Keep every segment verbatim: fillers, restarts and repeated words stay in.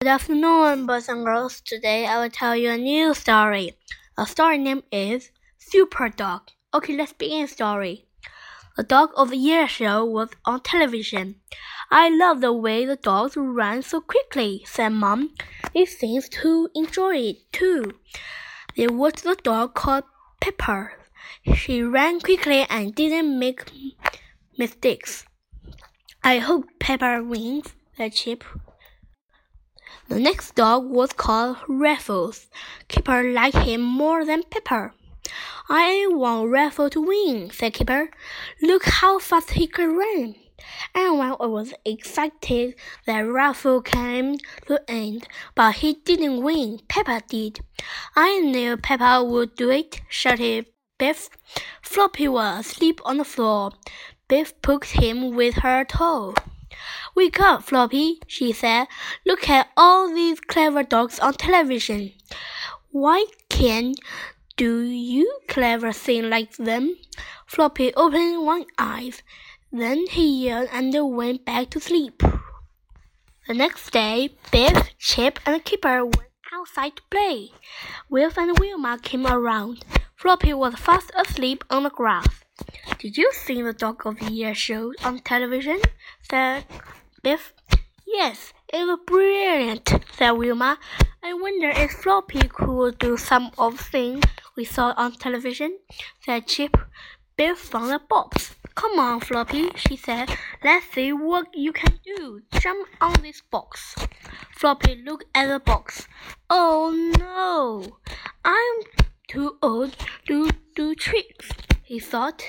Good afternoon, boys and girls. Today I will tell you a new story. The story name is Super Dog. Okay, let's begin the story. The Dog of the Year show was on television. I love the way the dogs ran so quickly, said Mom. It seems to enjoy it too. There was the dog called Pepper. She ran quickly and didn't make mistakes. I hope Pepper wins, said Chip. The next dog was called Raffles. Kipper liked him more than Pepper. I want Raffles to win, said Kipper. Look how fast he could run. Everyone was excited that Raffles came to end, but he didn't win. Pepper did. I knew Pepper would do it, shouted Biff. Floppy was asleep on the floor. Biff poked him with her toe. Wake up, Floppy, she said. Look at all these clever dogs on television. Why can't do you clever thing like them? Floppy opened one eye. Then he yawned and went back to sleep. The next day, Biff, Chip, and Kipper went outside to play. Wilf and Wilma came around. Floppy was fast asleep on the grass. Did you see the Dog of the Year show on television? Said Biff. Yes, it was brilliant, said Wilma. I wonder if Floppy could do some of the things we saw on television, said Chip. Biff found a box. Come on, Floppy, she said. Let's see what you can do. Jump on this box. Floppy looked at the box. Oh no, I'm too old to do tricks, he thought.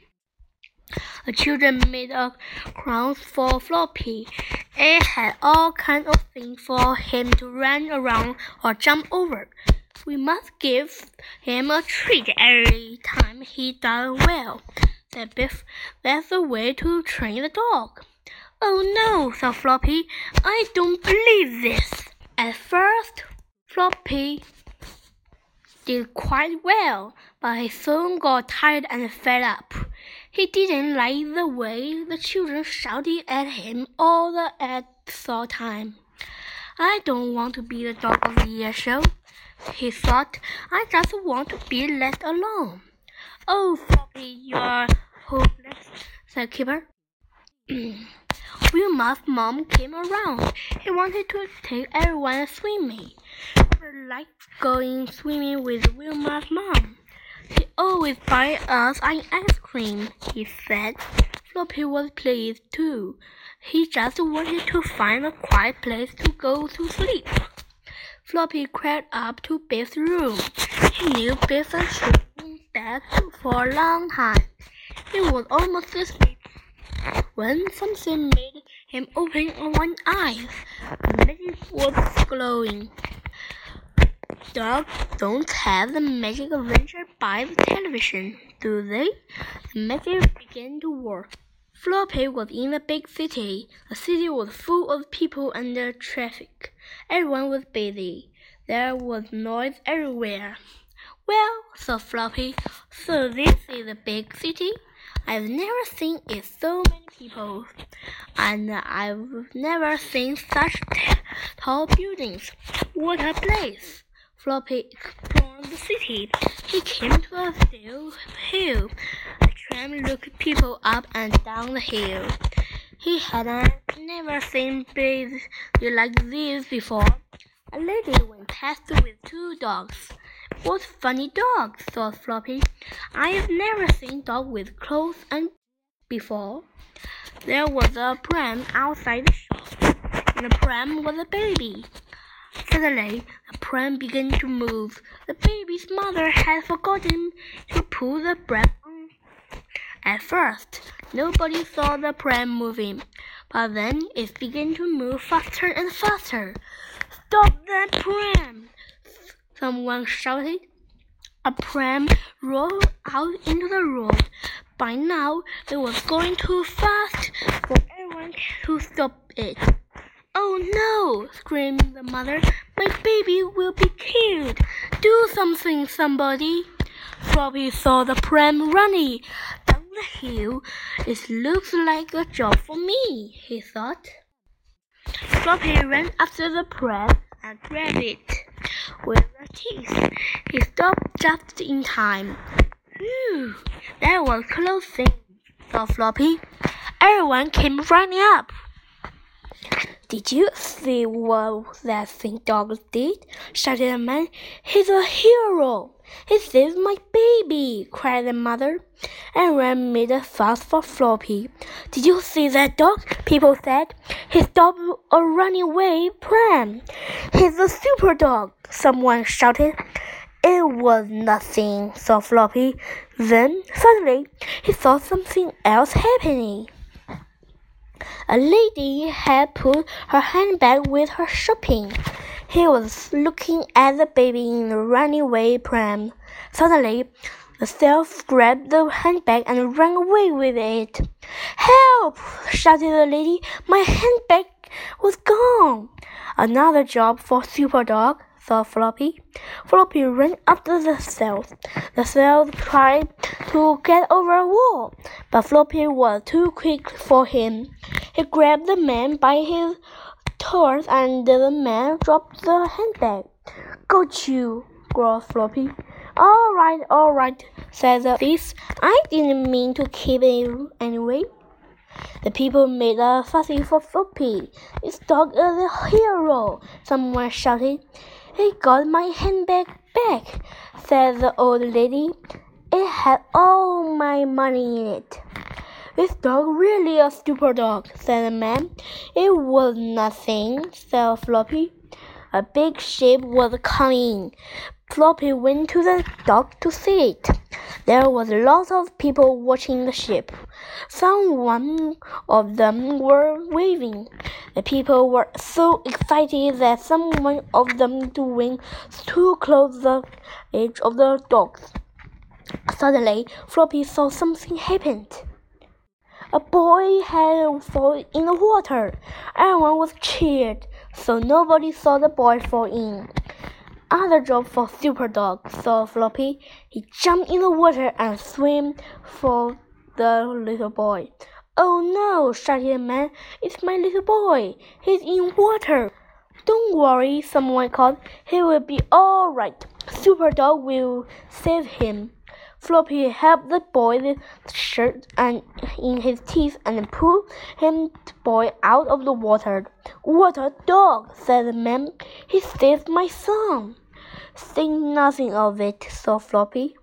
The children made a crown for Floppy. It had all kinds of things for him to run around or jump over. We must give him a treat every time he does well, said Biff. That's the way to train the dog. Oh no, said Floppy. I don't believe this. At first, Floppy did quite well, but he soon got tired and fed up. He didn't like the way the children shouted at him all the at the time. I don't want to be the Dog of the Year show, he thought. I just want to be left alone. Oh, Floppy, you're hopeless, said Kipper. Wilma's mom came around. He wanted to take everyone swimming. Kipper liked going swimming with Wilma's mom. She always buys us an ice cream, he said. Floppy was pleased too. He just wanted to find a quiet place to go to sleep. Floppy crept up to Biff's room. He knew Biff had slept in bed for a long time. He was almost asleep when something made him open one eye. The magic was glowing. Dogs don't have the magic adventure by the television, do they? The magic began to work. Floppy was in a big city. The city was full of people and traffic. Everyone was busy. There was noise everywhere. Well, thought Floppy, so this is a big city? I've never seen it so many people, and I've never seen such t- tall buildings. What a place! Floppy explored the city. He came to a still hill. A tram looked people up and down the hill. He had never seen buildings like this before. A lady went past with two dogs. What funny dogs, thought Floppy. I've never seen dogs with clothes and before. There was a pram outside the shop. In the pram was a baby. Suddenly, the pram began to move. The baby's mother had forgotten to pull the pram on. At first, nobody saw the pram moving, but then it began to move faster and faster. Stop that pram! Someone shouted. A pram rolled out into the road. By now, it was going too fast for everyone to stop it. Oh no, screamed the mother. My baby will be killed. Do something, somebody. Floppy saw the pram running down the hill. It looks like a job for me, he thought. Floppy ran after the pram and grabbed it with her teeth. He stopped just in time. Phew, that was a close thing, thought Floppy. Everyone came running up. Did you see what that thing dog did? Shouted the man. He's a hero. He saved my baby, cried the mother. Everyone made a fuss for Floppy. Did you see that dog? People said. He stopped a runaway pram. He's a super dog, someone shouted. It was nothing, thought Floppy. Then, suddenly, he saw something else happening. A lady had put her handbag with her shopping. He was looking at the baby in the runaway pram. Suddenly, the thief grabbed the handbag and ran away with it. Help! Shouted the lady. My handbag was gone. Another job for Super Dog, thought Floppy. Floppy ran after the thief. The thief tried to get over a wall, but Floppy was too quick for him. He grabbed the man by his toes and the man dropped the handbag. Got you, growled Floppy. All right, all right, said the thief. I didn't mean to keep it anyway. The people made a fussy for Floppy. This dog is a hero, someone shouted. He got my handbag back, said the old lady. It had all my money in it. This dog really a super dog, said the man. It was nothing, said Floppy. A big ship was coming. Floppy went to the dock to see it. There was lots of people watching the ship. Some one of them were waving. The people were so excited that some one of them went too close to the edge of the dock. Suddenly, Floppy saw something happen. A boy had fallen in the water. Everyone was cheered, so nobody saw the boy fall in. Other job for Super Dog, thought Floppy. He jumped in the water and swam for the little boy. Oh no, shouted the man. It's my little boy. He's in water. Don't worry, someone called. He will be all right. Super Dog will save him. Floppy helped the boy with the shirt and in his teeth and pulled him the boy out of the water. What a dog, said the man. He saved my son. Think nothing of it, thought Floppy.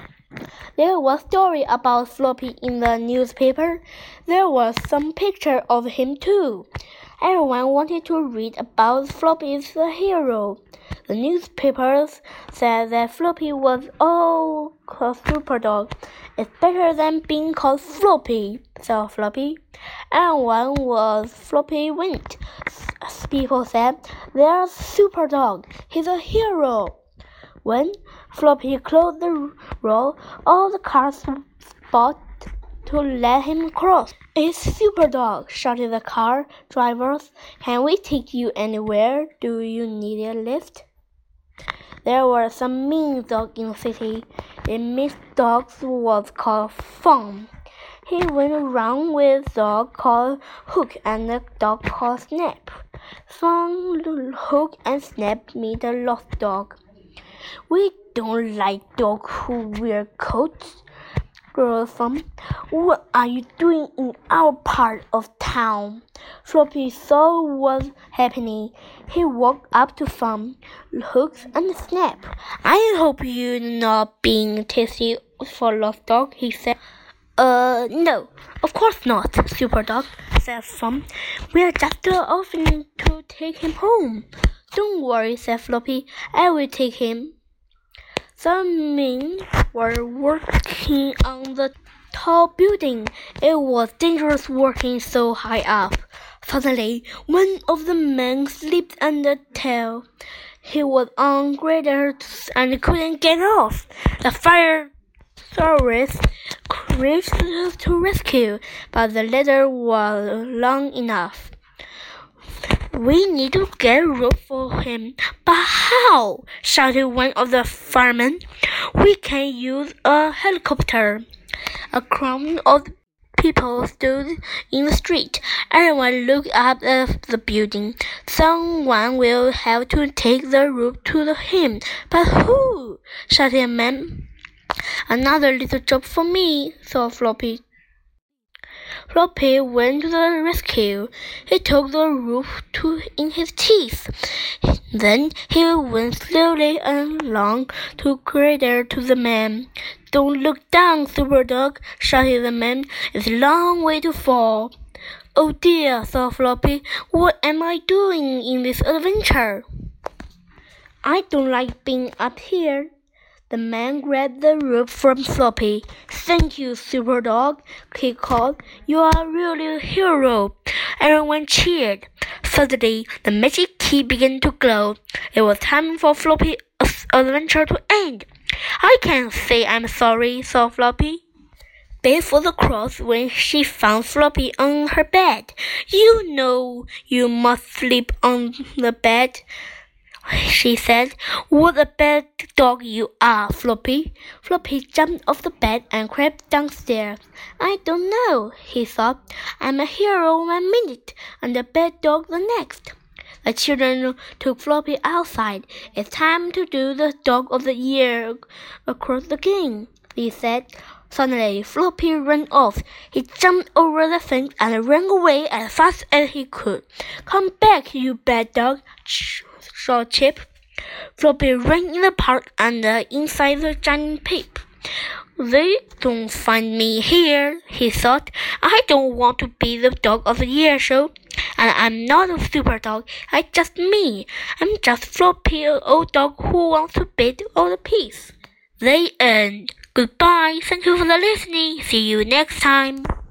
There was a story about Floppy in the newspaper. There was some picture of him too. Everyone wanted to read about Floppy's the hero. The newspapers said that Floppy was all called Super Dog. It's better than being called Floppy, said Floppy. Everyone was Floppy went. People said, there's Super Dog. He's a hero. When Floppy closed the road, all the cars stopped to let him cross. It's Super Dog, shouted the car drivers. Can we take you anywhere? Do you need a lift? There were some mean dogs in the city. The mean dog was called Fun. He went around with a dog called Hook and a dog called Snap. Fun, Hook, and Snap meet a lost dog. We don't like dogs who wear coats, growled Fun. What are you doing in our part of town? Floppy saw what was happening. He walked up to Fun, Hook, and Snap. I hope you're not being tasty for lost dog, he said. Uh, no, of course not, Super Dog, said Fun. We're just offering to take him home. Don't worry, said Floppy. I will take him. Some men were working on the tall building. It was dangerous working so high up. Suddenly, one of the men slipped on the tail. He was on grader and couldn't get off. The fire service raced to rescue, but the ladder was long enough. We need to get a rope for him. But how? Shouted one of the firemen. We can use a helicopter. A crowd of people stood in the street. Everyone looked up at the building. Someone will have to take the roof to the him. But who? Shouted a man. Another little job for me, thought Floppy. Floppy went to the rescue. He took the roof to in his teeth. Then he went slowly along to cradle to the man. Don't look down, Super Dog, shouted the man. It's a long way to fall. Oh dear, thought Floppy. What am I doing in this adventure? I don't like being up here. The man grabbed the rope from Floppy. Thank you, Super Dog, he called. You are really a hero. Everyone cheered. Suddenly, the magic key began to glow. It was time for Floppy's adventure to end. I can't say I'm sorry, thought Floppy. Before the cross when she found Floppy on her bed. You know you must sleep on the bed, she said. What a bad dog you are, Floppy. Floppy jumped off the bed and crept downstairs. I don't know, he thought. I'm a hero one minute and a bad dog the next. The children took Floppy outside. It's time to do the Dog of the Year across the game, they said. Suddenly, Floppy ran off. He jumped over the fence and ran away as fast as he could. Come back, you bad dog, shouted Chip. Floppy ran in the park and uh, inside the giant pit. They don't find me here, he thought. I don't want to be the Dog of the Year show. And I'm not a super dog. I'm just me. I'm just Floppy, an old dog who wants to beat all the peace. The end. Goodbye. Thank you for listening. See you next time.